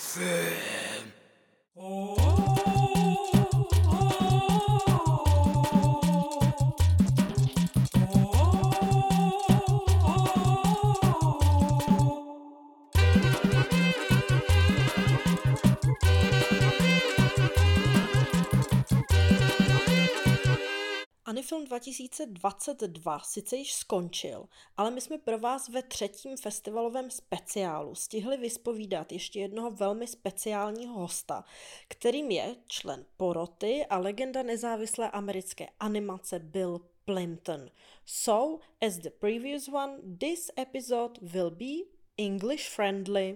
FM. Anifilm 2022 sice již skončil, ale my jsme pro vás ve 3. festivalovém speciálu stihli vyspovídat ještě jednoho velmi speciálního hosta, kterým je člen poroty a legenda nezávislé americké animace Bill Plympton. So, as the previous one, this episode will be English friendly.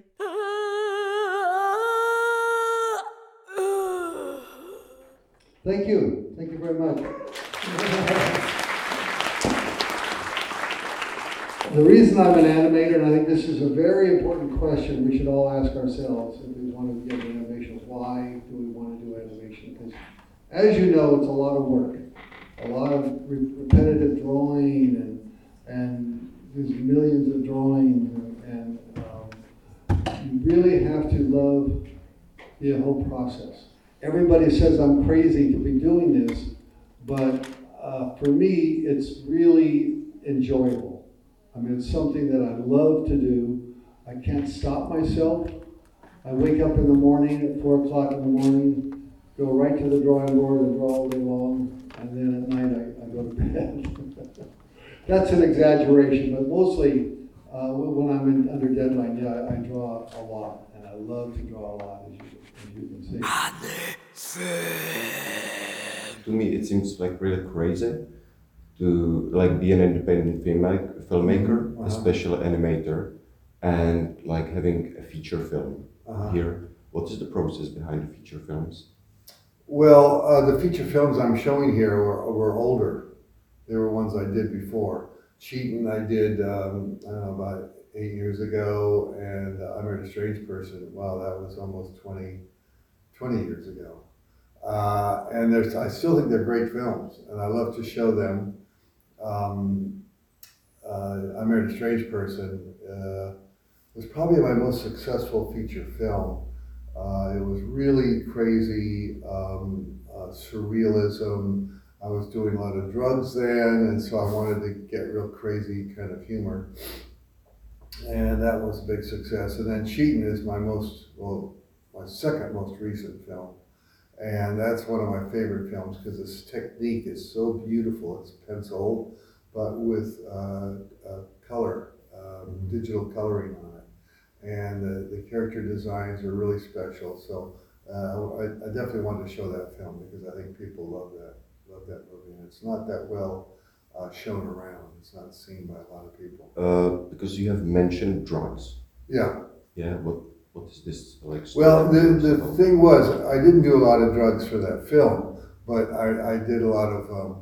Thank you. Thank you very much. The reason I'm an animator, and I think this is a very important question we should all ask ourselves if we want to get into animation, why do we want to do animation? Because as you know, it's a lot of work, a lot of repetitive drawing, and there's millions of drawings, and you really have to love the whole process. Everybody says I'm crazy to be doing this, but for me, it's really enjoyable. I mean, it's something that I love to do. I can't stop myself. I wake up in the morning at 4 o'clock in the morning, go right to the drawing board and draw all day long, and then at night I go to bed. That's an exaggeration, but mostly when I'm under deadline, yeah, I draw a lot, and I love to draw a lot, as you can see. To me, it seems like really crazy to like be an independent filmmaker, especially animator, and like having a feature film here. What is the process behind the feature films? Well, the feature films I'm showing here were older. They were ones I did before. Cheatin' I did, I don't know, about 8 years ago, and I Married a Strange Person, wow, that was almost 20 years ago. And I still think they're great films, and I love to show them. I Married a Strange Person was probably my most successful feature film. It was really crazy, surrealism. I was doing a lot of drugs then, and so I wanted to get real crazy kind of humor. And that was a big success. And then Cheatin' is my second most recent film. And that's one of my favorite films because this technique is so beautiful. It's pencil, but with color, digital coloring on it. And the character designs are really special. So I definitely wanted to show that film because I think people love that movie. And it's not that well shown around. It's not seen by a lot of people. Because you have mentioned drugs. Yeah. Yeah. What is this like? Well, the thing was, I didn't do a lot of drugs for that film, but I did a lot of,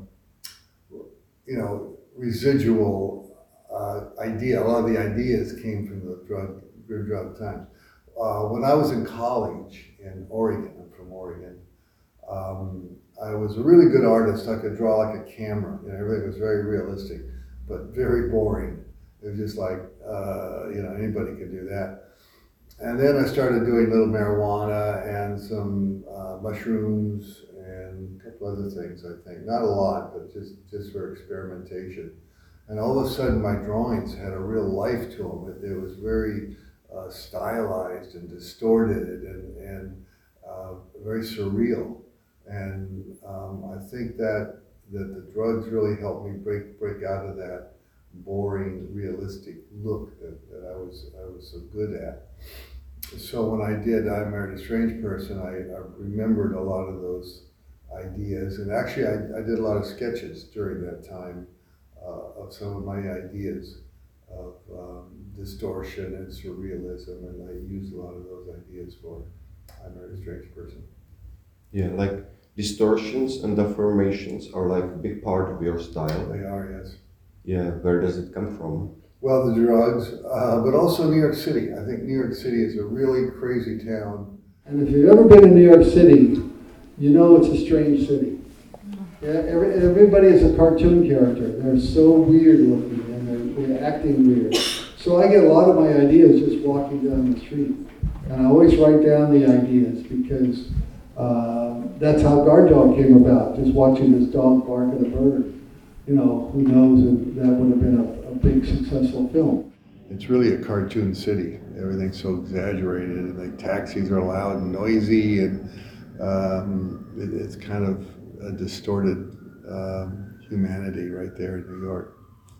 residual idea. A lot of the ideas came from the drug times. When I was in college in Oregon, I'm from Oregon, I was a really good artist. I could draw like a camera. Everything was very realistic, but very boring. It was just like, anybody could do that. And then I started doing little marijuana and some mushrooms and a couple other things, I think. Not a lot, but just for experimentation. And all of a sudden my drawings had a real life to them. It was very stylized and distorted and very surreal. And I think that the drugs really helped me break out of that boring, realistic look that I was so good at. So when I did I Married a Strange Person, I remembered a lot of those ideas, and actually I did a lot of sketches during that time of some of my ideas of distortion and surrealism, and I used a lot of those ideas for I Married a Strange Person. Yeah, like distortions and deformations are like a big part of your style. They are, yes. Yeah, where does it come from? Well, the drugs, but also New York City. I think New York City is a really crazy town. And if you've ever been in New York City, you know it's a strange city. Yeah, everybody is a cartoon character. They're so weird looking and they're acting weird. So I get a lot of my ideas just walking down the street. And I always write down the ideas because that's how Guard Dog came about, just watching this dog bark at a bird. You know, who knows if that would have been a big successful film. It's really a cartoon city. Everything's so exaggerated, and the taxis are loud and noisy, and it's kind of a distorted humanity right there in New York.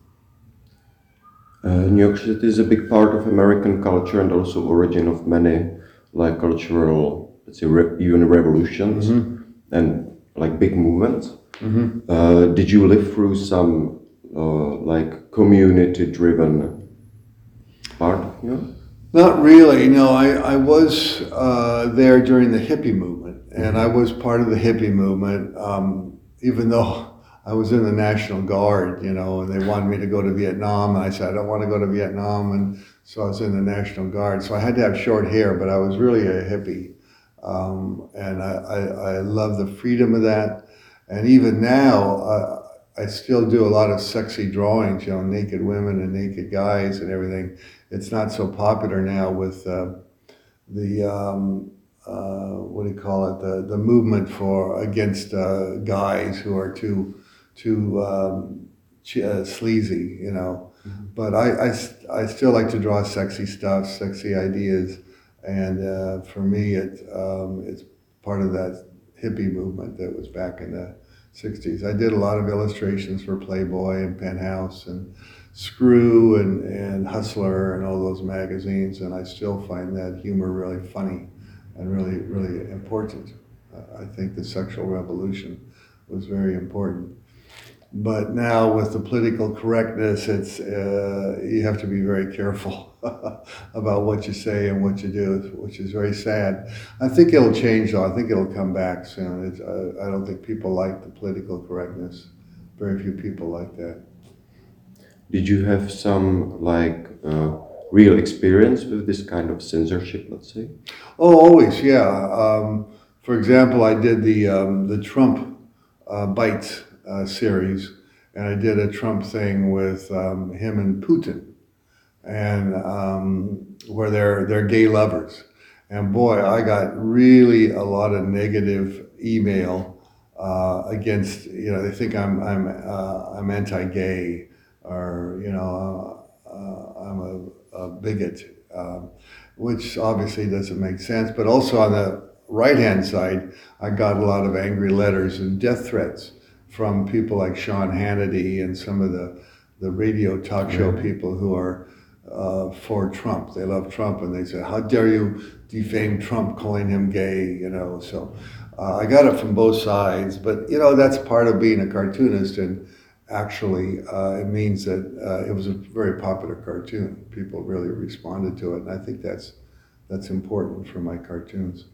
New York City is a big part of American culture and also origin of many like cultural, let's say, even revolutions and like big movements. Did you live through some like community-driven part of New York? Not really. No, I was there during the hippie movement, and I was part of the hippie movement, even though I was in the National Guard, you know, and they wanted me to go to Vietnam. And I said, I don't want to go to Vietnam. And so I was in the National Guard. So I had to have short hair, but I was really a hippie. And I love the freedom of that. And even now, I still do a lot of sexy drawings, you know, naked women and naked guys and everything. It's not so popular now with what do you call it? The movement against guys who are too sleazy, you know. But I still like to draw sexy stuff, sexy ideas, and for me it's part of that hippie movement that was back in the 60s. I did a lot of illustrations for Playboy and Penthouse and Screw and Hustler and all those magazines, and I still find that humor really funny and really, really important. I think the sexual revolution was very important. But now with the political correctness, it's you have to be very careful about what you say and what you do, which is very sad. I think it'll change though. I think it'll come back soon. I don't think people like the political correctness. Very few people like that. Did you have some like real experience with this kind of censorship, let's say? Oh, always, yeah. For example, I did the Trump Bites series, and I did a Trump thing with him and Putin, and where they're gay lovers. And boy, I got really a lot of negative email against, you know, they think I'm anti-gay, or you know, I'm a bigot, which obviously doesn't make sense. But also on the right-hand side, I got a lot of angry letters and death threats from people like Sean Hannity and some of the radio talk show people who are for Trump. They love Trump, and they say, how dare you defame Trump, calling him gay, you know. So I got it from both sides, but you know, that's part of being a cartoonist, and actually it means that it was a very popular cartoon. People really responded to it, and I think that's important for my cartoons.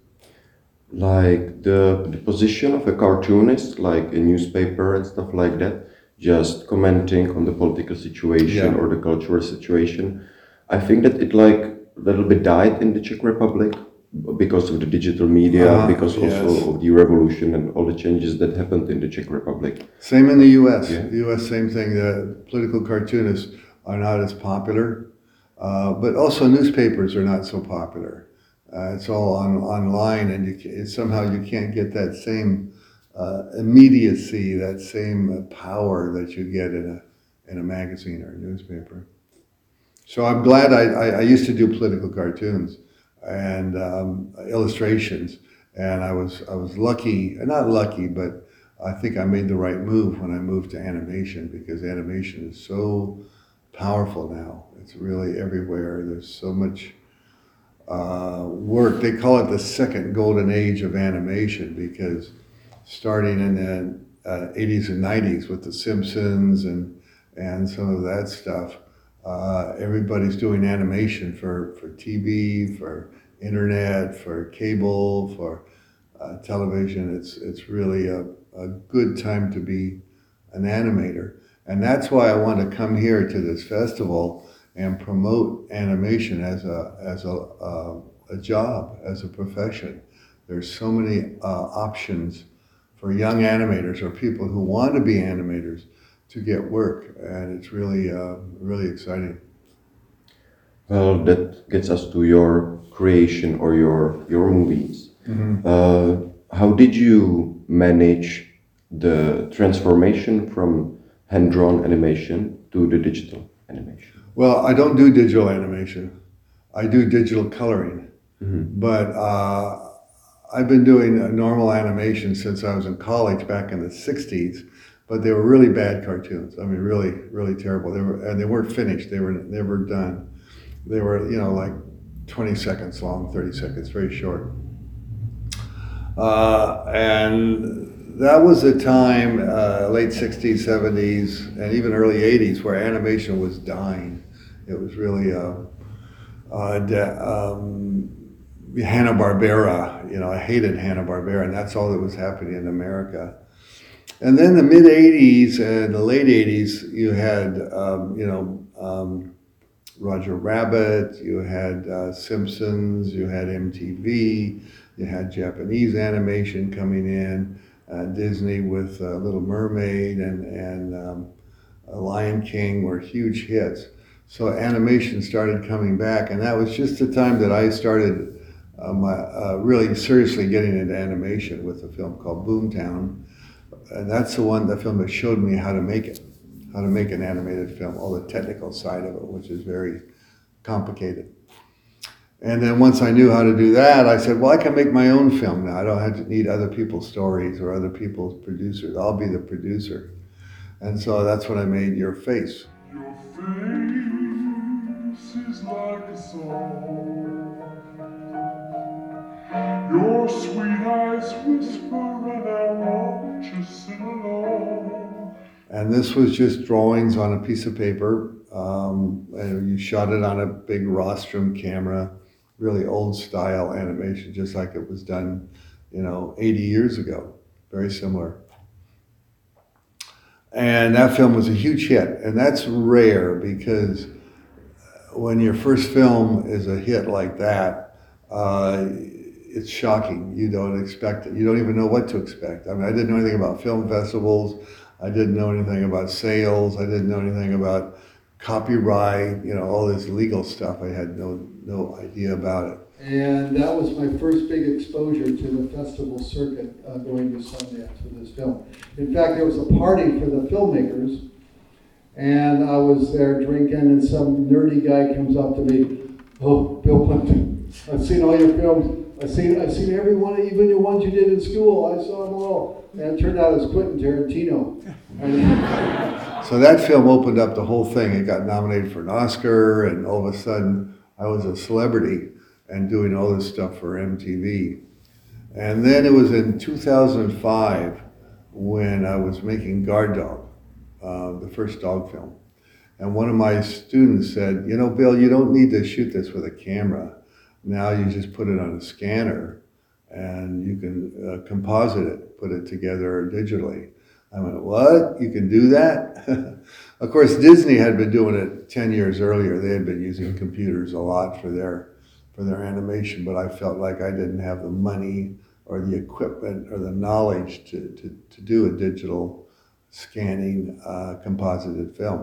Like the position of a cartoonist, like a newspaper and stuff like that, just commenting on the political situation or the cultural situation. I think that it like a little bit died in the Czech Republic because of the digital media, because also of the revolution and all the changes that happened in the Czech Republic. Same in the U.S. The U.S., same thing. The political cartoonists are not as popular, but also newspapers are not so popular. It's all online, and somehow you can't get that same immediacy, that same power that you get in a magazine or a newspaper. So I'm glad I used to do political cartoons and illustrations, and I was lucky, not lucky, but I think I made the right move when I moved to animation, because animation is so powerful now. It's really everywhere. There's so much work. They call it the second golden age of animation, because starting in the 80s and 90s with The Simpsons and some of that stuff, everybody's doing animation for TV, for internet, for cable, for television. It's really a good time to be an animator. And that's why I want to come here to this festival and promote animation as a job, as a profession. There's so many options for young animators or people who want to be animators to get work, and it's really really exciting. Well, that gets us to your creation or your movies. How did you manage the transformation from hand-drawn animation to the digital animation? Well, I don't do digital animation. I do digital coloring. But I've been doing a normal animation since I was in college back in the 60s, but they were really bad cartoons. I mean, really, really terrible. They weren't finished. They were never done. They were, like 20 seconds long, 30 seconds, very short. And that was a time, late 60s, 70s, and even early 80s, where animation was dying. It was really Hanna-Barbera, I hated Hanna-Barbera, and that's all that was happening in America. And then the mid 80s and the late 80s, you had, Roger Rabbit, you had Simpsons, you had MTV, you had Japanese animation coming in, Disney with Little Mermaid and Lion King were huge hits. So animation started coming back, and that was just the time that I started really seriously getting into animation with a film called Boomtown. And that's the film that showed me how to make it, how to make an animated film, all the technical side of it, which is very complicated. And then once I knew how to do that, I said, well, I can make my own film now. I don't have to need other people's stories or other people's producers. I'll be the producer. And so that's when I made Your Face. Your face is like a song. Your sweet eyes whisper and I want you sing along. And this was just drawings on a piece of paper. And you shot it on a big rostrum camera, really old style animation, just like it was done, 80 years ago. Very similar. And that film was a huge hit. And that's rare because when your first film is a hit like that, it's shocking. You don't expect it. You don't even know what to expect. I mean, I didn't know anything about film festivals. I didn't know anything about sales. I didn't know anything about copyright, all this legal stuff. I had no idea about it. And that was my first big exposure to the festival circuit, going to Sundance with this film. In fact, there was a party for the filmmakers, and I was there drinking, and some nerdy guy comes up to me, "Oh, Bill Plimpton, I've seen all your films. I've seen every one, even the ones you did in school. I saw them all." And it turned out it was Quentin Tarantino. So that film opened up the whole thing. It got nominated for an Oscar, and all of a sudden I was a celebrity and doing all this stuff for MTV. And then it was in 2005 when I was making Guard Dog, the first dog film. And one of my students said, Bill, you don't need to shoot this with a camera. Now you just put it on a scanner and you can composite it, put it together digitally. I went, what? You can do that? Of course, Disney had been doing it 10 years earlier. They had been using computers a lot for their animation, but I felt like I didn't have the money or the equipment or the knowledge to do a digital scanning composited film.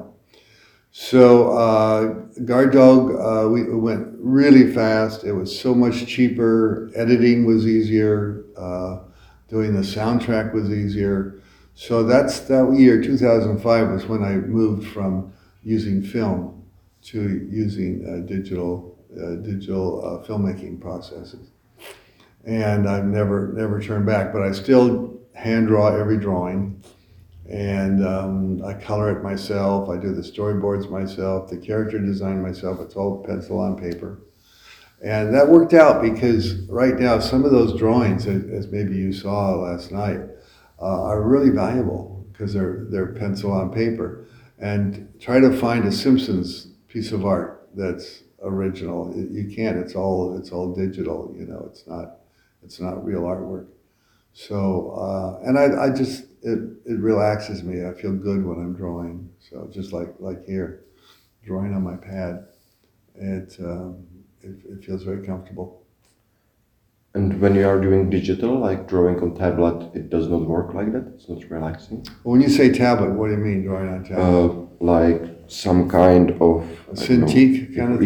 So Guard Dog, we went really fast. It was so much cheaper. Editing was easier. Doing the soundtrack was easier. So that year, 2005, was when I moved from using film to using digital filmmaking processes. And I've never turned back, but I still hand draw every drawing. And I color it myself. I do the storyboards myself, the character design myself. It's all pencil on paper. And that worked out because right now, some of those drawings, as maybe you saw last night, are really valuable because they're pencil on paper. And try to find a Simpsons piece of art that's original. You can't. It's all digital. It's not real artwork. So and I just it relaxes me. I feel good when I'm drawing. So just like here, drawing on my pad, it feels very comfortable. And when you are doing digital, like drawing on tablet, it does not work like that? It's not relaxing? Well, when you say tablet, what do you mean drawing on tablet? Like some kind of... A Cintiq kind of thing? Yeah,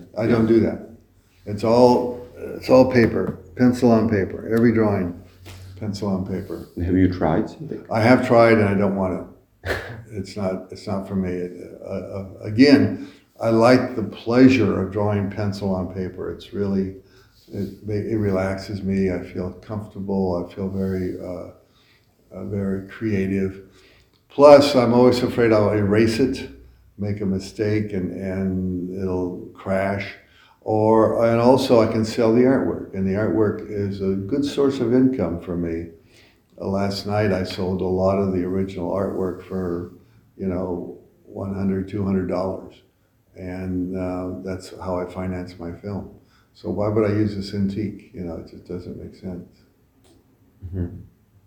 I don't do that. It's all paper, pencil on paper. Every drawing, pencil on paper. Have you tried something? I have tried, and I don't want to. It's not for me. Again, I like the pleasure of drawing pencil on paper. It's really, it relaxes me. I feel comfortable. I feel very creative. Plus, I'm always afraid I'll erase it, make a mistake, and it'll crash. And also I can sell the artwork, and the artwork is a good source of income for me. Last night I sold a lot of the original artwork for, $100, $200, and that's how I finance my film. So why would I use a Cintiq? It just doesn't make sense. Mm-hmm.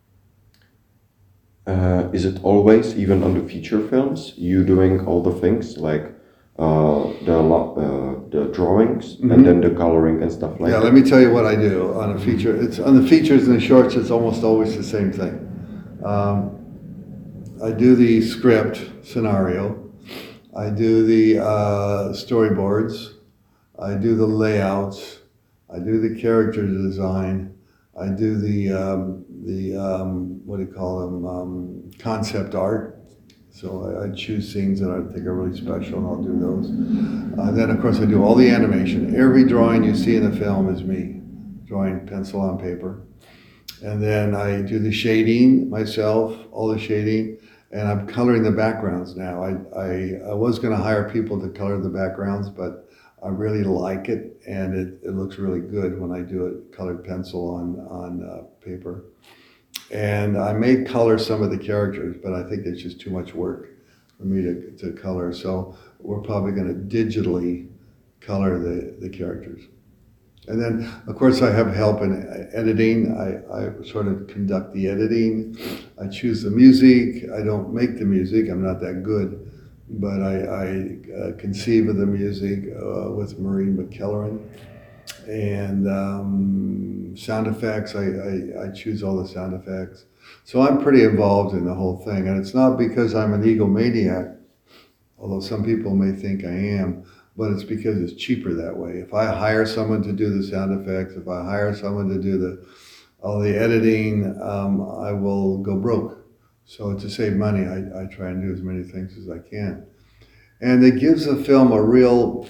Is it always, even on the feature films, you doing all the things like the drawings and then the coloring and stuff like that? Yeah, let me tell you what I do on a feature. It's on the features and the shorts. It's almost always the same thing. I do the script scenario. I do the storyboards. I do the layouts. I do the character design. I do the what do you call them? Concept art. So I choose scenes that I think are really special, and I'll do those. Then, of course, I do all the animation. Every drawing you see in the film is me, drawing pencil on paper. And then I do the shading myself, all the shading, and I'm coloring the backgrounds now. I was going to hire people to color the backgrounds, but I really like it, and it looks really good when I do it colored pencil on paper. And I may color some of the characters, but I think it's just too much work for me to color. So we're probably going to digitally color the characters. And then, of course, I have help in editing. I sort of conduct the editing. I choose the music. I don't make the music. I'm not that good. But I conceive of the music with Maureen McKelleran. And sound effects, I choose all the sound effects. So I'm pretty involved in the whole thing. And it's not because I'm an egomaniac, although some people may think I am, but it's because it's cheaper that way. If I hire someone to do the sound effects, if I hire someone to do all the editing, I will go broke. So to save money, I try and do as many things as I can. And it gives the film a real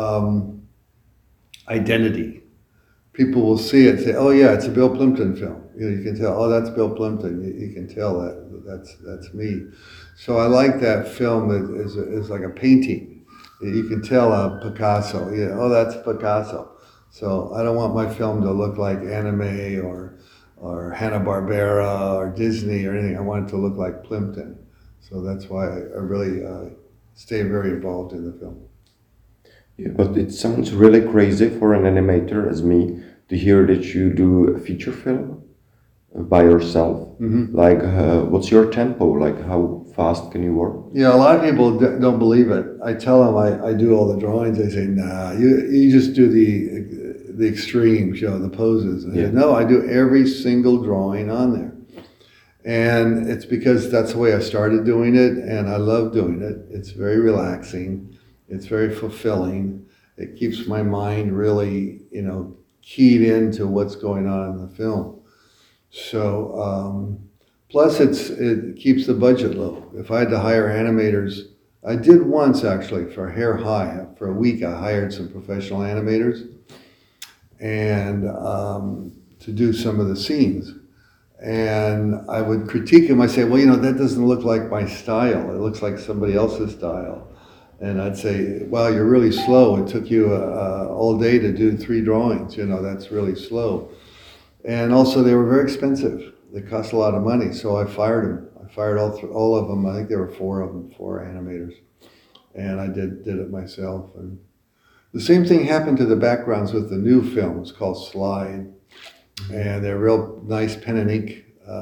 identity. People will see it and say, oh yeah, it's a Bill Plympton film. You can tell, oh, that's Bill Plympton. You can tell that's me. So I like that film is like a painting. You can tell Picasso, oh, that's Picasso. So I don't want my film to look like anime or Hanna-Barbera or Disney or anything. I want it to look like Plympton. So that's why I really stay very involved in the film. Yeah, but it sounds really crazy for an animator as me to hear that you do a feature film by yourself. Mm-hmm. Like, what's your tempo? Like, how fast can you work? Yeah, a lot of people don't believe it. I tell them I do all the drawings. They say, nah, you just do the extremes, the poses. I say, no, I do every single drawing on there. And it's because that's the way I started doing it, and I love doing it. It's very relaxing. It's very fulfilling. It keeps my mind really, keyed into what's going on in the film. So, plus it keeps the budget low. If I had to hire animators, I did once actually for Hair High. For a week, I hired some professional animators and to do some of the scenes. And I would critique him. I say, well, that doesn't look like my style. It looks like somebody else's style. And I'd say, wow, you're really slow. It took you all day to do 3 drawings. That's really slow. And also, they were very expensive. They cost a lot of money. So I fired them. I fired all of them. I think there were 4 of them, 4 animators. And I did it myself. And the same thing happened to the backgrounds with the new film. It's called Slide. And they're real nice pen and ink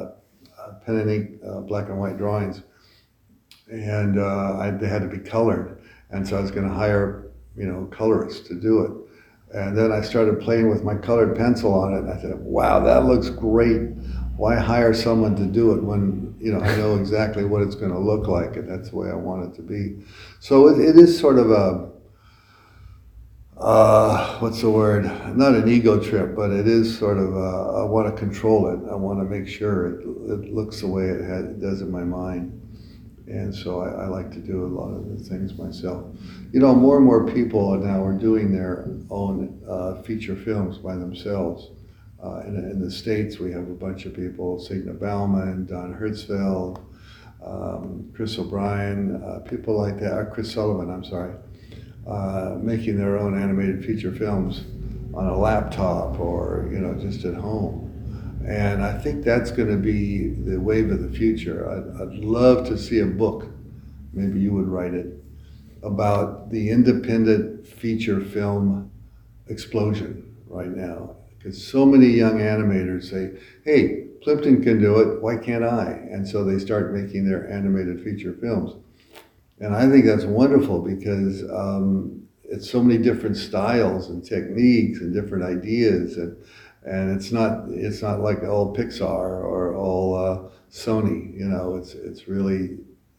black and white drawings. And they had to be colored. And so I was going to hire, colorists to do it. And then I started playing with my colored pencil on it. And I said, wow, that looks great. Why hire someone to do it when, I know exactly what it's going to look like, and that's the way I want it to be. So it is sort of what's the word? Not an ego trip, but it is sort of, I want to control it. I want to make sure it looks the way it does in my mind. And so I like to do a lot of the things myself. You know, more and more people now are doing their own feature films by themselves. In the States, we have a bunch of people, Signe Bauman, Don Hertzfeld, Chris O'Brien, people like that, Chris Sullivan, I'm sorry, making their own animated feature films on a laptop or, you know, just at home. And I think that's going to be the wave of the future. I'd love to see a book, maybe you would write it, about the independent feature film explosion right now. Because so many young animators say, hey, Plimpton can do it, why can't I? And so they start making their animated feature films. And I think that's wonderful because it's so many different styles and techniques and different ideas. And it's not like all Pixar or all Sony, you know. It's really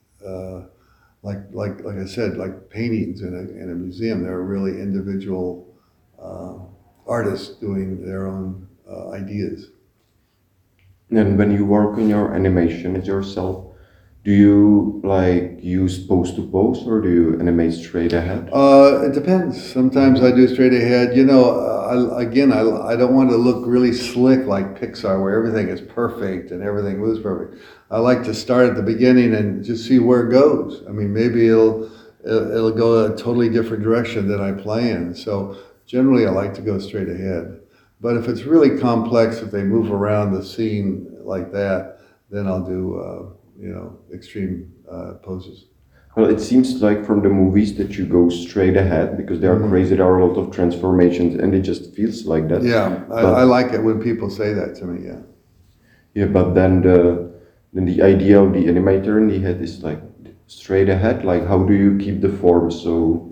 like I said, like paintings in a museum. They're really individual artists doing their own ideas. And when you work on your animation yourself, do you like use pose to pose or do you animate straight ahead? It depends. Sometimes I do straight ahead. You know, I don't want to look really slick like Pixar, where everything is perfect and everything moves perfect. I like to start at the beginning and just see where it goes. I mean, maybe it'll go a totally different direction than I plan. So generally, I like to go straight ahead. But if it's really complex, if they move around the scene like that, then I'll do extreme poses. Well, it seems like from the movies that you go straight ahead because they are crazy. There are a lot of transformations, and it just feels like that. Yeah, I like it when people say that to me. Yeah. Yeah, but then the idea of the animator in the head is like straight ahead. Like, how do you keep the form so?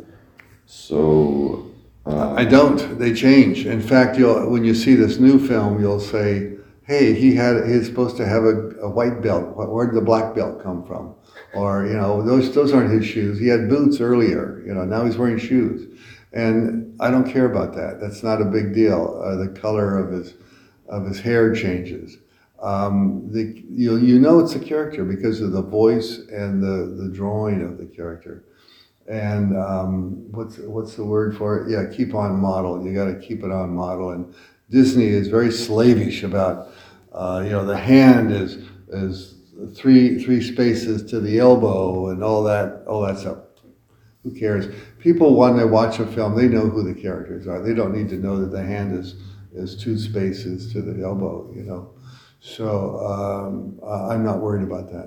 I don't. They change. In fact, when you see this new film, you'll say, hey, he's supposed to have a white belt. Where did the black belt come from? Or, you know, those aren't his shoes. He had boots earlier, you know, now he's wearing shoes. And I don't care about that. That's not a big deal. The color of his hair changes. You know it's a character because of the voice and the drawing of the character. And what's the word for it? Yeah, keep on model. You got to keep it on model. And Disney is very slavish about, the hand is three spaces to the elbow and all that stuff. Who cares? People, when they watch a film, they know who the characters are. They don't need to know that the hand is 2 spaces to the elbow, you know. So I'm not worried about that.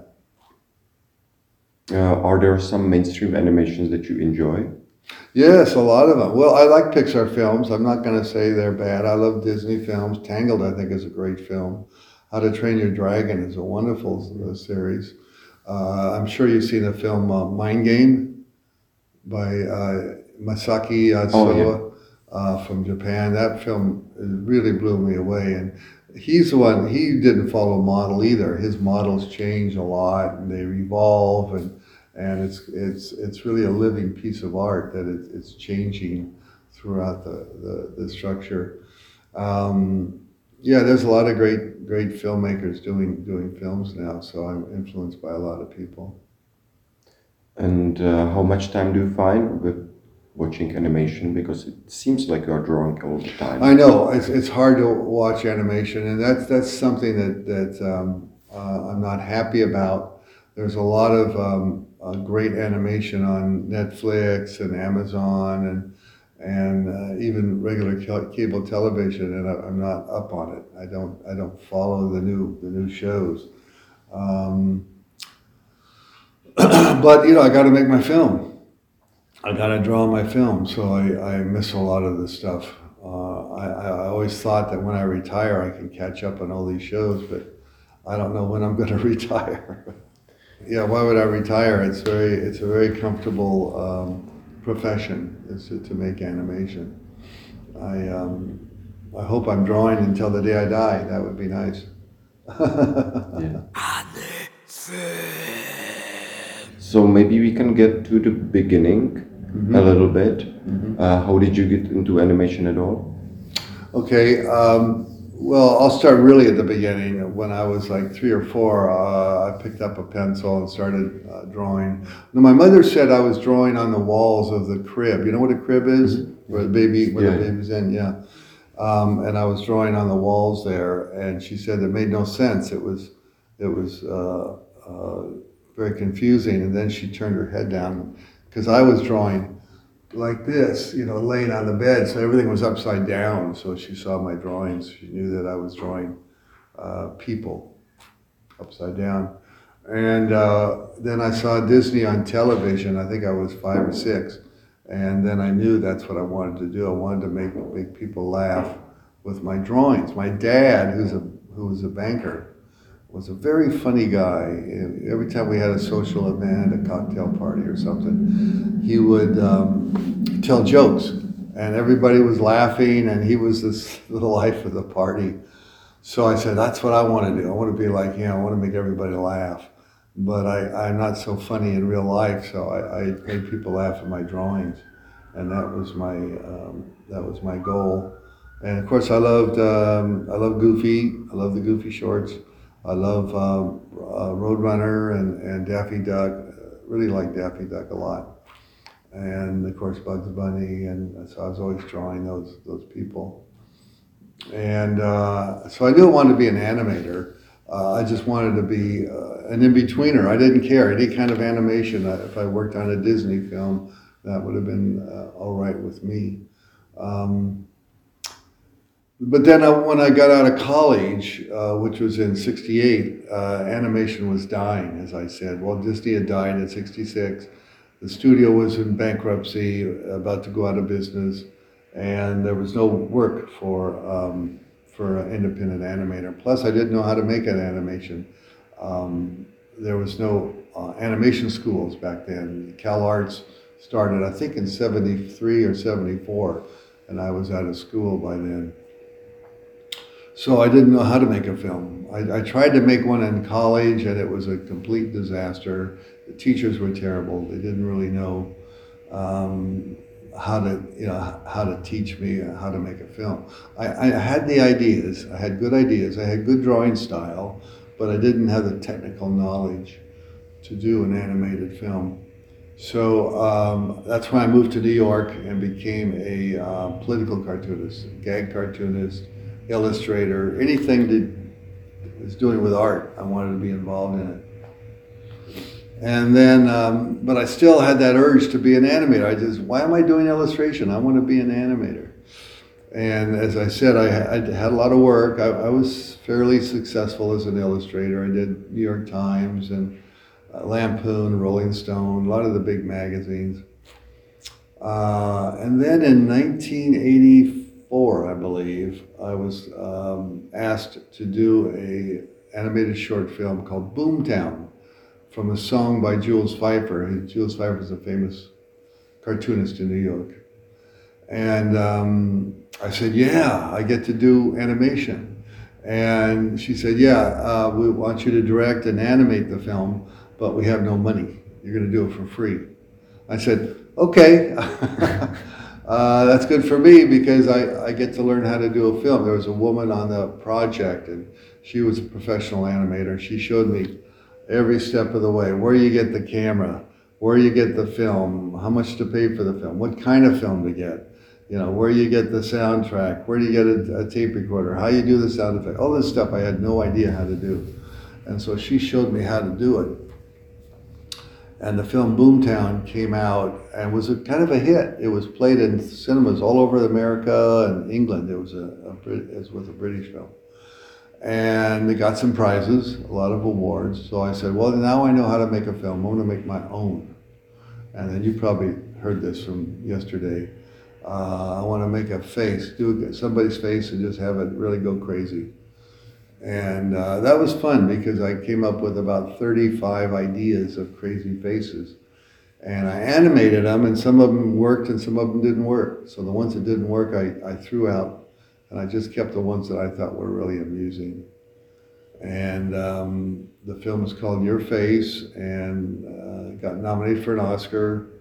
Are there some mainstream animations that you enjoy? Yes, a lot of them. Well, I like Pixar films. I'm not going to say they're bad. I love Disney films. Tangled, I think, is a great film. How to Train Your Dragon is a wonderful series. I'm sure you've seen the film Mind Game by Masaki Atsuo from Japan. That film really blew me away. And he's the one, he didn't follow a model either. His models change a lot and they evolve and it's really a living piece of art that it's changing throughout the structure. There's a lot of great filmmakers doing films now, so I'm influenced by a lot of people. And how much time do you find with watching animation? Because it seems like you are drawing all the time. I know it's hard to watch animation, and that's something that I'm not happy about. There's a lot of great animation on Netflix and Amazon and even regular cable television, and I'm not up on it. I don't follow the new shows. But I got to make my film. I got to draw my film, so I miss a lot of this stuff. I always thought that when I retire, I can catch up on all these shows, but I don't know when I'm going to retire. Yeah, why would I retire? It's a very comfortable profession is to make animation. I hope I'm drawing until the day I die. That would be nice. Yeah. So maybe we can get to the beginning. a little bit. How did you get into animation at all? Okay, well, I'll start really at the beginning. When I was like 3 or 4, I picked up a pencil and started drawing. Now, my mother said I was drawing on the walls of the crib. You know what a crib is? Where the baby's in, yeah. And I was drawing on the walls there, and she said it made no sense. It was very confusing. And then she turned her head down because I was drawing like this, you know, laying on the bed, so everything was upside down. So she saw my drawings. She knew that I was drawing people upside down. And then I saw Disney on television. I think I was 5 or 6. And then I knew that's what I wanted to do. I wanted to make people laugh with my drawings. My dad, who was a banker, was a very funny guy. Every time we had a social event, a cocktail party or something, he would tell jokes, and everybody was laughing, and he was the life of the party. So I said, that's what I want to do. I want to be like him. I want to make everybody laugh. But I'm not so funny in real life, so I made people laugh at my drawings, and that was my goal. And of course, I love Goofy. I love the Goofy shorts. I love Roadrunner and Daffy Duck. Really like Daffy Duck a lot. And of course Bugs Bunny, and so I was always drawing those people. And so I knew I wanted to be an animator. I just wanted to be an in-betweener. I didn't care, any kind of animation. If I worked on a Disney film, that would have been all right with me. But then when I got out of college, which was in '68, animation was dying, as I said. Walt Disney had died at 66. The studio was in bankruptcy, about to go out of business, and there was no work for an independent animator. Plus, I didn't know how to make an animation. There was no animation schools back then. CalArts started, I think, in '73 or '74, and I was out of school by then. So I didn't know how to make a film. I tried to make one in college, and it was a complete disaster. The teachers were terrible. They didn't really know how to teach me how to make a film. I had the ideas. I had good ideas. I had good drawing style, but I didn't have the technical knowledge to do an animated film. So that's when I moved to New York and became a political cartoonist, gag cartoonist, illustrator, anything that was doing with art. I wanted to be involved in it. And then, but I still had that urge to be an animator. Why am I doing illustration? I want to be an animator. And as I said, I had a lot of work. I was fairly successful as an illustrator. I did New York Times and Lampoon, Rolling Stone, a lot of the big magazines. And then in 1984, I believe, I was asked to do an animated short film called Boomtown, from a song by Jules Feiffer. Jules Feiffer is a famous cartoonist in New York. And I said, yeah, I get to do animation. And she said, yeah, we want you to direct and animate the film, but we have no money. You're going to do it for free. I said, okay. That's good for me because I get to learn how to do a film. There was a woman on the project, and she was a professional animator. She showed me every step of the way, where you get the camera, where you get the film, how much to pay for the film, what kind of film to get, where you get the soundtrack, where do you get a tape recorder, how you do the sound effect, all this stuff I had no idea how to do. And so she showed me how to do it. And the film Boomtown came out and was kind of a hit. It was played in cinemas all over America and England. It was a British film. And it got some prizes, a lot of awards. So I said, well, now I know how to make a film. I'm going to make my own. And then you probably heard this from yesterday. I want to make a face, do somebody's face and just have it really go crazy. And that was fun because I came up with about 35 ideas of crazy faces. And I animated them, and some of them worked and some of them didn't work. So the ones that didn't work, I threw out. And I just kept the ones that I thought were really amusing. And the film is called Your Face, and got nominated for an Oscar.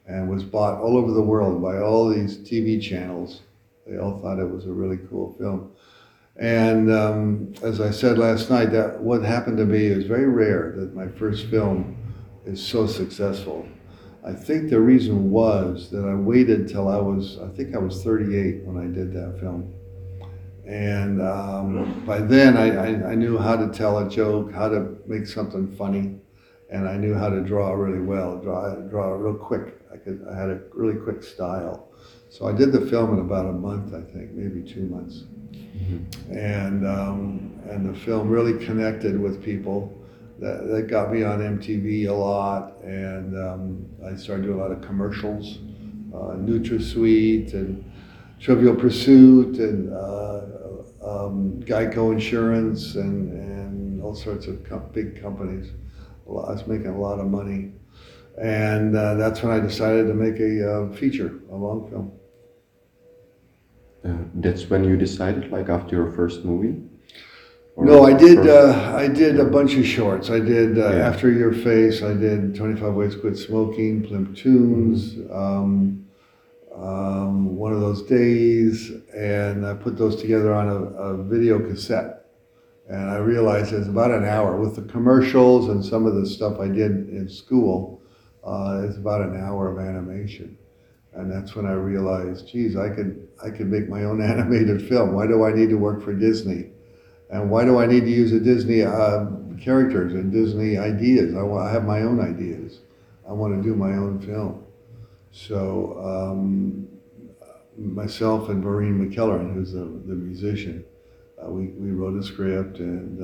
and was bought all over the world by all these TV channels. They all thought it was a really cool film. And as I said last night, that what happened to me is very rare that my first film is so successful. I think the reason was that I waited till I was 38 when I did that film. And by then I knew how to tell a joke, how to make something funny, and I knew how to draw really well, draw real quick. I had a really quick style. So I did the film in about a month, I think, maybe 2 months. And the film really connected with people. That got me on MTV a lot, and I started doing a lot of commercials, NutraSweet and Trivial Pursuit and Geico Insurance and all sorts of big companies. I was making a lot of money, and that's when I decided to make a feature, a long film. That's when you decided, like after your first movie? Or No, I did. first- I did a bunch of shorts. I did After Your Face. I did 25 Ways to Quit Smoking, Plimp Tunes, One of Those Days, and I put those together on a video cassette. And I realized it's about an hour with the commercials and some of the stuff I did in school. It's about an hour of animation, and that's when I realized, geez, I could make my own animated film. Why do I need to work for Disney? And why do I need to use a Disney characters and Disney ideas? I have my own ideas. I want to do my own film. So myself and Maureen McKellar, who's the musician, we wrote a script, and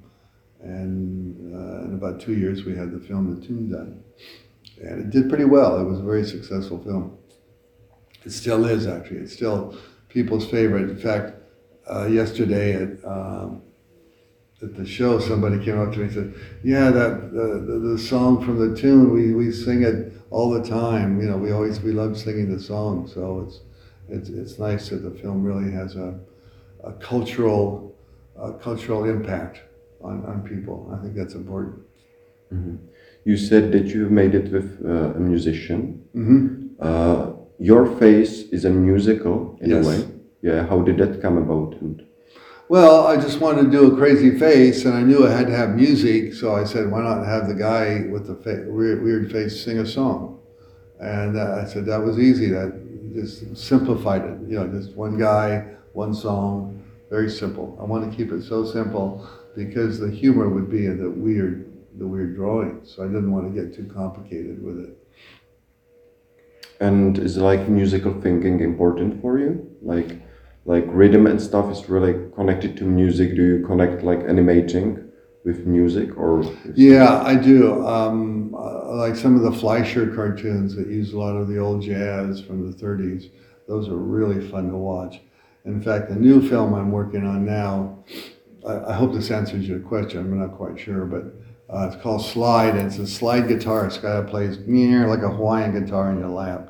in about 2 years we had the film, The Tune, done. And it did pretty well. It was a very successful film. It still is, actually. It's still people's favorite. In fact, yesterday at the show, somebody came up to me and said, "Yeah, the song from The Tune, we sing it all the time. You know, we love singing the song." So it's nice that the film really has a cultural impact on people. I think that's important. Mhm. You said that you made it with a musician. Mm-hmm. Your Face is a musical in Yes. a way. Yeah, how did that come about? And Well, I just wanted to do a crazy face, and I knew I had to have music, so I said, why not have the guy with the weird face sing a song? And I said that was easy. That just simplified it. You know, just one guy, one song, very simple. I want to keep it so simple because the humor would be in the weird drawings. So I didn't want to get too complicated with it. And is like musical thinking important for you? Like rhythm and stuff is really connected to music. Do you connect like animating with music or? Yeah, I do. Like some of the Fleischer cartoons that use a lot of the old jazz from the 30s. Those are really fun to watch. In fact, the new film I'm working on now, I hope this answers your question. I'm not quite sure, but it's called Slide, and it's a slide guitarist guy that plays like a Hawaiian guitar in your lap.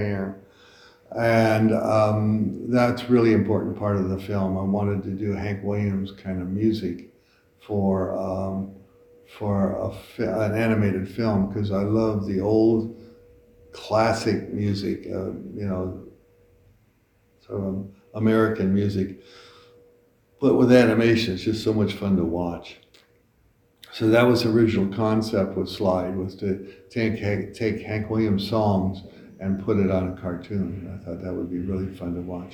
And that's really important part of the film. I wanted to do Hank Williams kind of music for an animated film because I love the old classic music, sort of American music. But with animation, it's just so much fun to watch. So that was the original concept with Slide, was to take Hank Williams songs and put it on a cartoon. I thought that would be really fun to watch.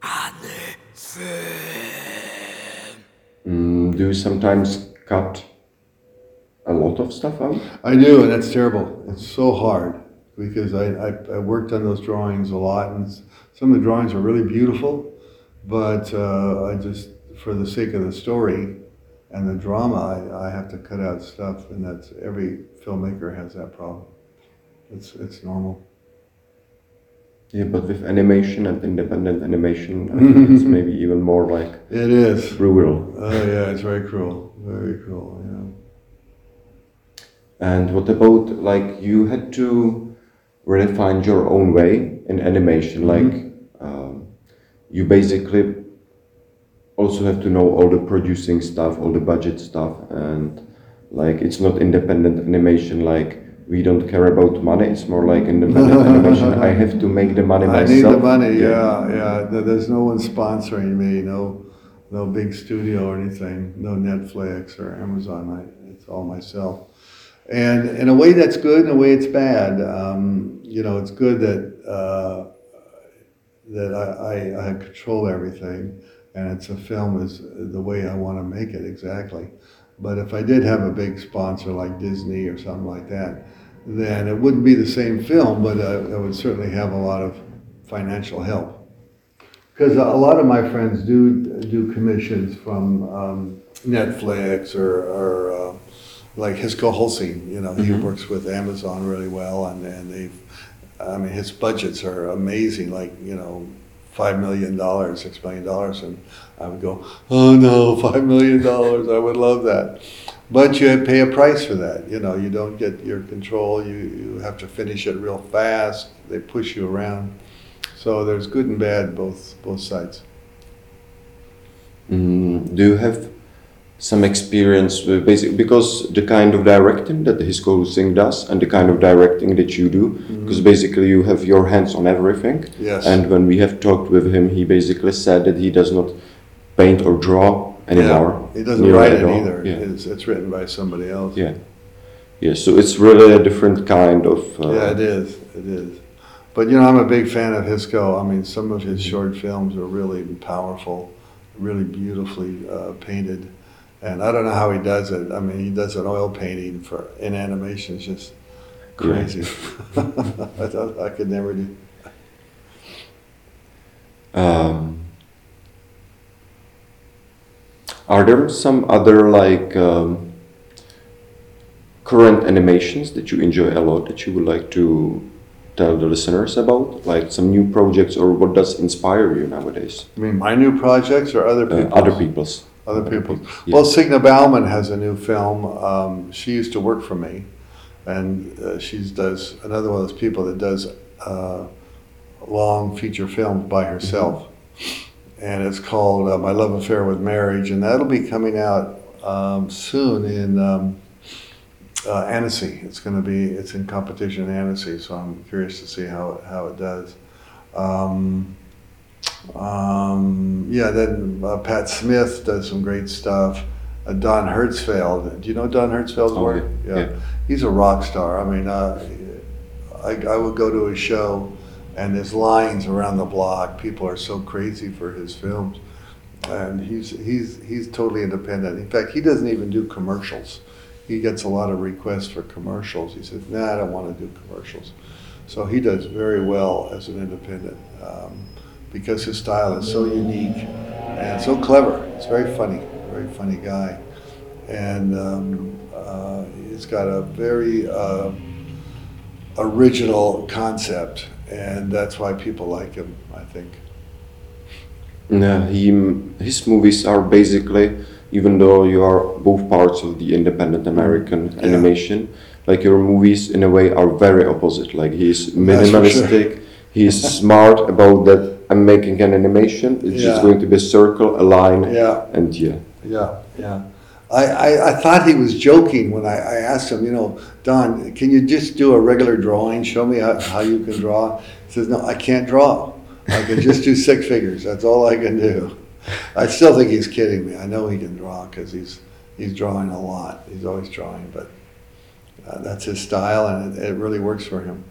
Do you sometimes cut a lot of stuff out? I do, and that's terrible. It's so hard because I worked on those drawings a lot, and some of the drawings are really beautiful, but I just, for the sake of the story and the drama, I have to cut out stuff, and that's every filmmaker has that problem. It's normal. Yeah, but with animation and independent animation, I think it's maybe even more like It is. brutal. Oh yeah, it's very cruel. Very cruel, yeah. And what about like you had to really find your own way in animation? Like you basically also have to know all the producing stuff, all the budget stuff, and like it's not independent animation like we don't care about money. It's more like independent animation. I have to make the money myself. I need the money. Yeah. There's no one sponsoring me. No big studio or anything. No Netflix or Amazon. It's all myself. And in a way that's good. In a way it's bad. It's good that I control everything, and it's a film is the way I want to make it exactly. But if I did have a big sponsor like Disney or something like that, then it wouldn't be the same film, but I would certainly have a lot of financial help. Because a lot of my friends do commissions from Netflix or like Hisco Holcine. He works with Amazon really well, and his budgets are amazing. Like $5 million, $6 million, and I would go, oh no, $5 million, I would love that. But you pay a price for that. You don't get your control. You have to finish it real fast. They push you around. So there's good and bad both sides. Do you have some experience with because the kind of directing that Hisco Holcine does and the kind of directing that you do, because basically you have your hands on everything. Yes. And when we have talked with him, he basically said that he does not paint or draw anymore. Yeah, he doesn't write it all. either. Yeah. It's written by somebody else. Yeah. So it's really a different kind of... Yeah, it is. But I'm a big fan of Hisco. Some of his short films are really powerful, really beautifully painted. And I don't know how he does it. He does an oil painting in animation. It's just crazy. Yeah. I could never do. Are there some other current animations that you enjoy a lot that you would like to tell the listeners about? Like some new projects, or what does inspire you nowadays? My new projects or other people's? Other people's. Other people's. Yeah. Well, Signe Bauman has a new film. She used to work for me, and she does another one of those people that does long feature films by herself. And it's called My Love Affair with Marriage, and that'll be coming out soon in Annecy. It's in competition in Annecy, so I'm curious to see how it does. Then Pat Smith does some great stuff. Don Hertzfeld. Do you know Don Hertzfeld's work? Yeah. He's a rock star. I would go to his show, and there's lines around the block. People are so crazy for his films, and he's totally independent. In fact, he doesn't even do commercials. He gets a lot of requests for commercials. He says, "Nah, I don't want to do commercials." So he does very well as an independent. Because his style is so unique and so clever. It's very funny guy. And he's got a very original concept, and that's why people like him, I think. His movies are basically, even though you are both parts of the independent American animation, like your movies in a way are very opposite. Like he's minimalistic, he's smart about that. I'm making an animation. It's just going to be a circle, a line, and I thought he was joking when I asked him, Don, can you just do a regular drawing? Show me how you can draw. He says, no, I can't draw. I can just do stick figures. That's all I can do. I still think he's kidding me. I know he can draw because he's drawing a lot. He's always drawing, but that's his style, and it really works for him.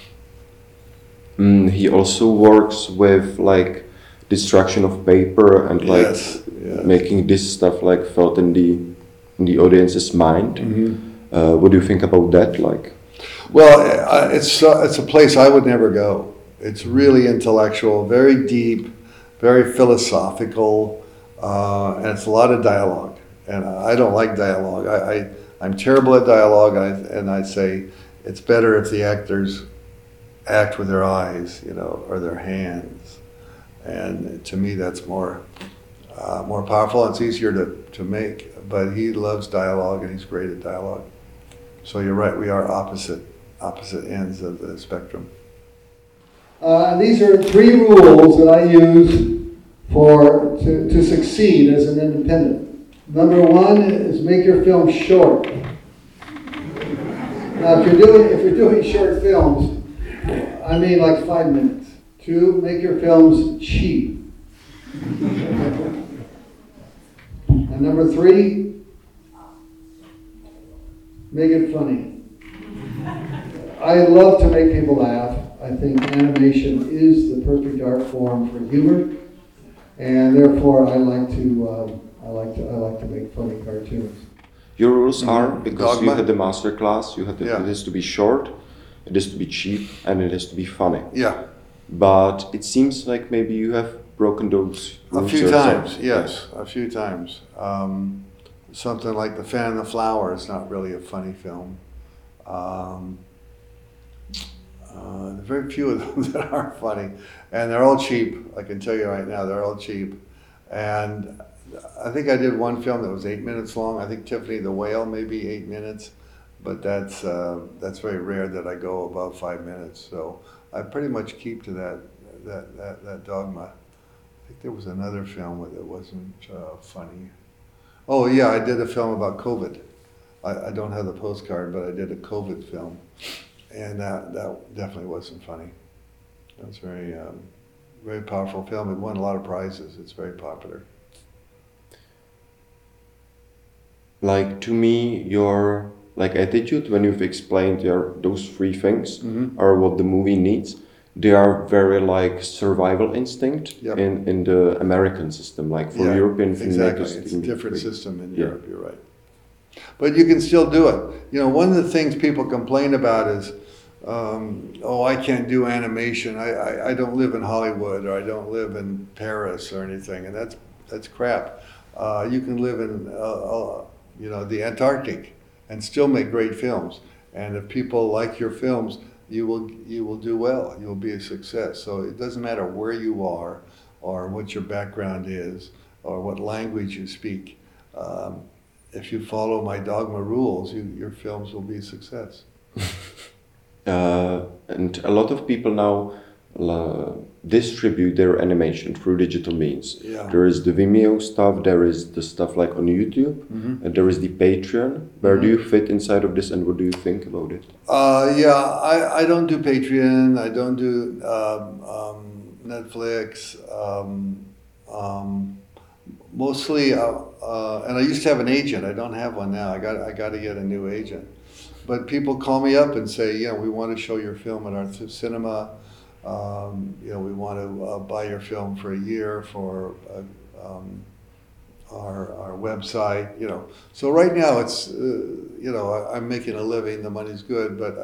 He also works with destruction of paper and making this stuff felt in the audience's mind. Mm-hmm. What do you think about that? Well, it's a place I would never go. It's really intellectual, very deep, very philosophical, and it's a lot of dialogue. And I don't like dialogue. I'm terrible at dialogue, and I say it's better if the actors act with their eyes, or their hands. And to me, that's more powerful. It's easier to make, but he loves dialogue, and he's great at dialogue. So you're right, we are opposite ends of the spectrum. These are 3 rules that I use to succeed as an independent. Number 1 is make your film short. Now, if you're doing short films, I mean like 5 minutes. 2, make your films cheap. And number 3, make it funny. I love to make people laugh. I think animation is the perfect art form for humor, and therefore I like to make funny cartoons. Your rules are, because you Dogma? had the master class, you had Yeah. it is to be short, it is to be cheap, and it is to be funny. Yeah, But it seems like maybe you have broken those a rules few yourself. times, yes, a few times. Something like The Fan and the Flower is not really a funny film. Very few of them that are funny, and they're all cheap. I can tell you right now, they're all cheap. And I think I did one film that was 8 minutes long. I think Tiffany the Whale, maybe 8 minutes, but that's very rare that I go above 5 minutes. So I pretty much keep to that dogma. I think there was another film that wasn't funny. Oh yeah, I did a film about COVID. I don't have the postcard, but I did a COVID film, and that definitely wasn't funny. That was very powerful film. It won a lot of prizes. It's very popular. Like to me, your like attitude when you've explained those 3 things are what the movie needs. They are very like survival instinct Yep. in the American system. Like for Yeah, European exactly. filmmakers, It's a different system in Yeah. Europe. You're right. But you can still do it. You know, one of the things people complain about is, oh, I can't do animation. I don't live in Hollywood, or I don't live in Paris or anything, and that's crap. You can live in the Antarctic and still make great films. And if people like your films, you will do well. You will be a success. So it doesn't matter where you are, or what your background is, or what language you speak. If you follow my dogma rules, your films will be a success. And a lot of people now distribute their animation through digital means. Yeah. There is the Vimeo stuff, there is the stuff like on YouTube, and there is the Patreon. Where do you fit inside of this, and what do you think about it? I don't do Patreon. I don't do Netflix. Mostly, and I used to have an agent. I don't have one now. I got to get a new agent. But people call me up and say, we want to show your film at our cinema. We want to buy your film for a year for our website. So right now it's I'm making a living. The money's good, but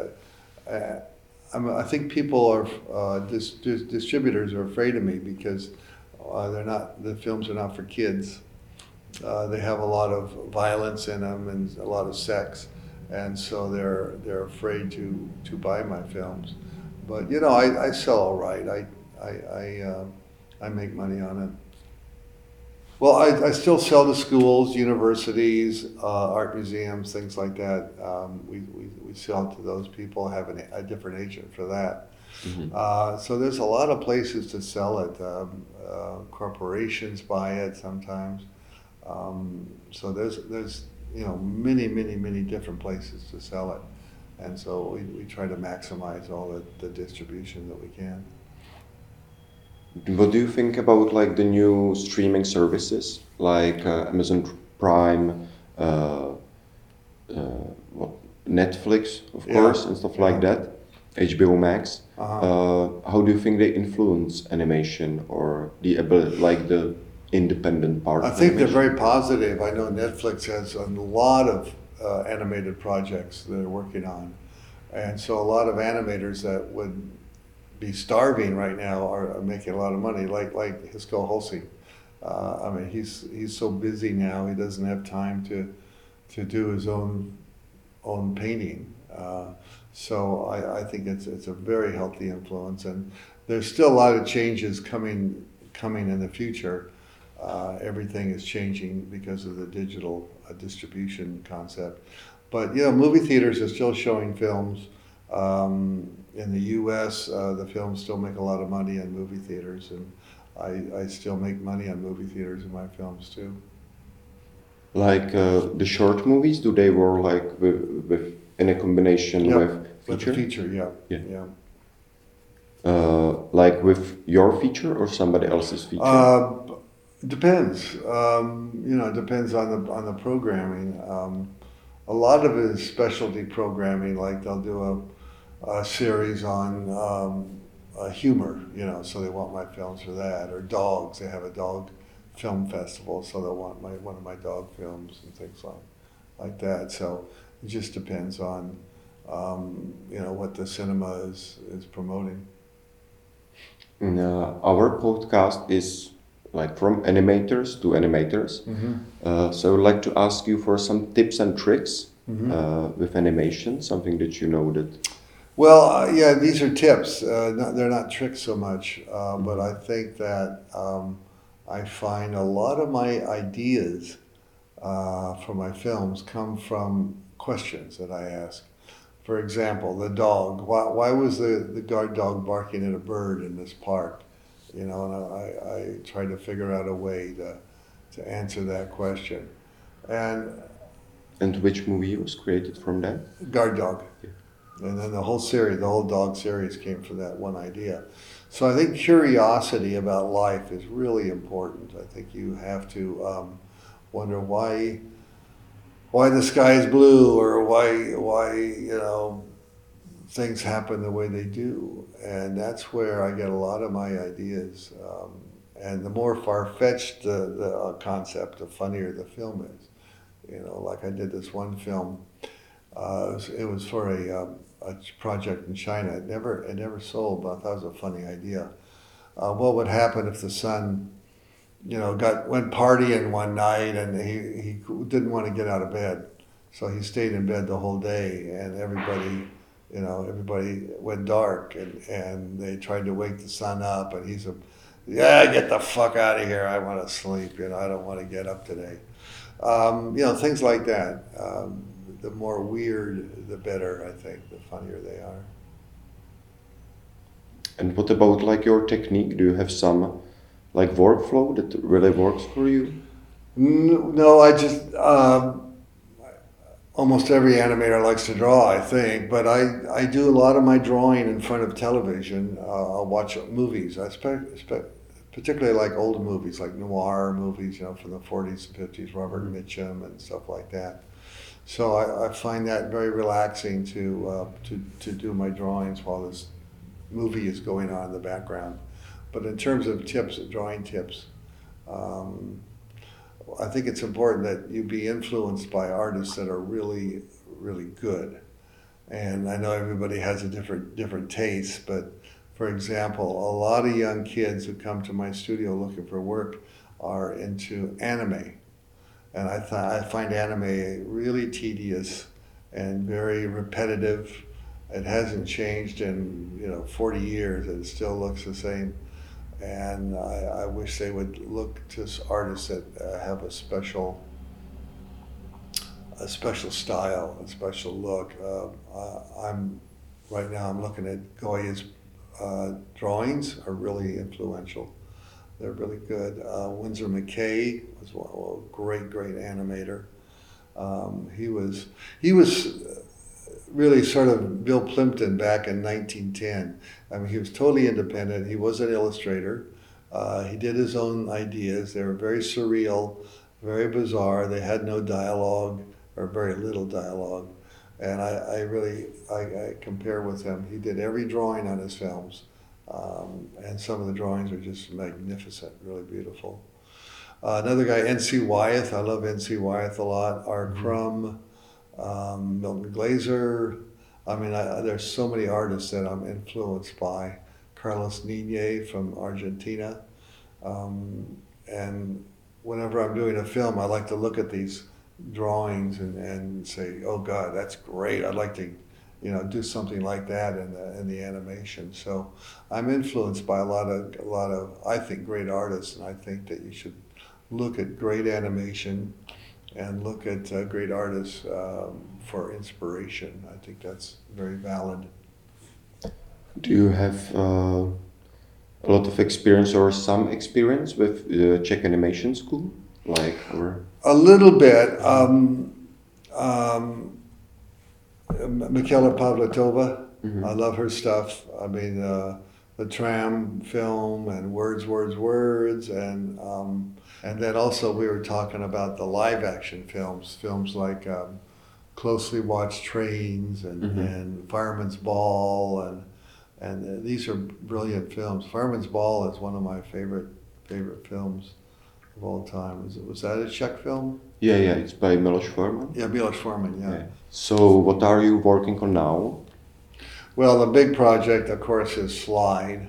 I think people are distributors are afraid of me because the films are not for kids. They have a lot of violence in them and a lot of sex, and so they're afraid to buy my films. But I sell all right. I make money on it. Well, I still sell to schools, universities, art museums, things like that. We sell to those people, have a different agent for that. So there's a lot of places to sell it. Corporations buy it sometimes. So there's many different places to sell it. And so we try to maximize all the distribution that we can. What do you think about like the new streaming services like Amazon Prime, Netflix, of course, and stuff like that, HBO Max? How do you think they influence animation or the ability, like the independent part? I think they're very positive. I know Netflix has a lot of animated projects that they're working on, and so a lot of animators that would be starving right now are making a lot of money, like Hisco Hulsey. He's so busy now, he doesn't have time to do his own painting. So I think it's a very healthy influence, and there's still a lot of changes coming in the future. Everything is changing because of the digital distribution concept. But movie theaters are still showing films. In the U.S., the films still make a lot of money in movie theaters, and I still make money on movie theaters in my films too. Like the short movies, do they work like with in a combination Yep, with with feature? the feature, yeah. Yeah. Like with your feature or somebody else's feature? Depends. It depends on the programming. A lot of it is specialty programming. Like they'll do a series on humor. So they want my films for that. Or dogs. They have a dog film festival, so they'll want one of my dog films and things like that. So it just depends on what the cinema is promoting. Our podcast is like from animators to animators. So I would like to ask you for some tips and tricks with animation, something that you know that. Well, yeah, these are tips. They're not tricks so much, but I think that I find a lot of my ideas for my films come from questions that I ask. For example, the dog. Why was the guard dog barking at a bird in this park? And I tried to figure out a way to answer that question. And which movie was created from that? Guard dog. And then the whole dog series came from that one idea. So I think curiosity about life is really important. I think you have to wonder why the sky is blue, or why things happen the way they do. And that's where I get a lot of my ideas. And the more far-fetched the concept, the funnier the film is. Like I did this one film. It was for a project in China. It never sold, but I thought it was a funny idea. What would happen if the son, went partying one night and he didn't want to get out of bed, so he stayed in bed the whole day, and everybody went dark, and they tried to wake the son up, and he said, "Yeah, get the fuck out of here. I want to sleep. I don't want to get up today." Things like that. The more weird, the better, I think, the funnier they are. And what about like your technique? Do you have some like workflow that really works for you? No, I just, almost every animator likes to draw, I think, but I do a lot of my drawing in front of television. I'll watch movies. I particularly like old movies, like noir movies, from the 40s and 50s, Robert Mitchum and stuff like that. So I find that very relaxing to do my drawings while this movie is going on in the background. But in terms of drawing tips, I think it's important that you be influenced by artists that are really, really good. And I know everybody has a different taste, but for example, a lot of young kids who come to my studio looking for work are into anime. And I find anime really tedious and very repetitive. It hasn't changed in 40 years. It still looks the same. And I wish they would look to artists that have a special style, a special look. Right now I'm looking at Goya's drawings are really influential. They're really good. Winsor McKay was a great animator. He was really sort of Bill Plimpton back in 1910. I mean, he was totally independent. He was an illustrator. He did his own ideas. They were very surreal, very bizarre. They had no dialogue, or very little dialogue. And I compare with him. He did every drawing on his films. And some of the drawings are just magnificent, really beautiful. Another guy, N.C. Wyeth. I love N.C. Wyeth a lot. R. Crumb, Milton Glaser. I mean, there's so many artists that I'm influenced by. Carlos Niñe from Argentina. And whenever I'm doing a film, I like to look at these drawings and say, oh God, that's great. I'd like to do something like that in the animation. So I'm influenced by a lot of I think great artists, and I think that you should look at great animation and look at great artists for inspiration. I think that's very valid. Do you have a lot of experience or some experience with the Czech animation school, Michaela Pavlatova. I love her stuff. I mean, the Tram film and Words, and then also we were talking about the live action films like Closely Watched Trains and Fireman's Ball, and these are brilliant films. Fireman's Ball is one of my favorite films of all time. Was that a Czech film? Yeah, it's by Miloš Forman. Yeah, Miloš Forman, yeah. So what are you working on now? Well, the big project, of course, is Slide.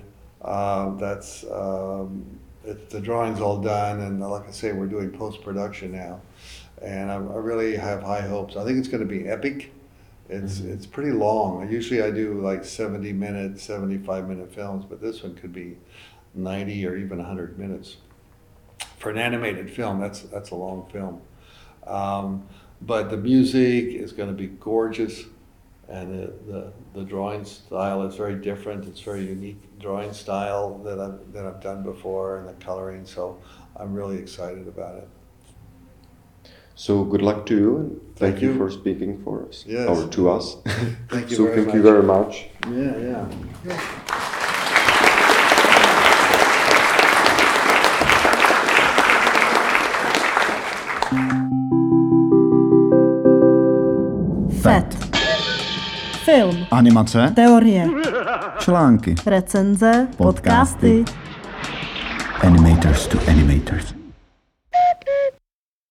The drawing's all done, and like I say, we're doing post-production now. And I really have high hopes. I think it's going to be epic. It's pretty long. Usually I do like 70-minute, 75-minute films, but this one could be 90 or even 100 minutes. For an animated film, that's a long film. But the music is going to be gorgeous, and the drawing style is very different. It's very unique drawing style that I've done before, and the coloring. So I'm really excited about it. So good luck to you, and thank you you for speaking for us, Yes. or to us. Thank you So very thank much. you very much. Yeah. FET. Film, Animace, teorie, články, recenze, podcasty. Animators to Animators.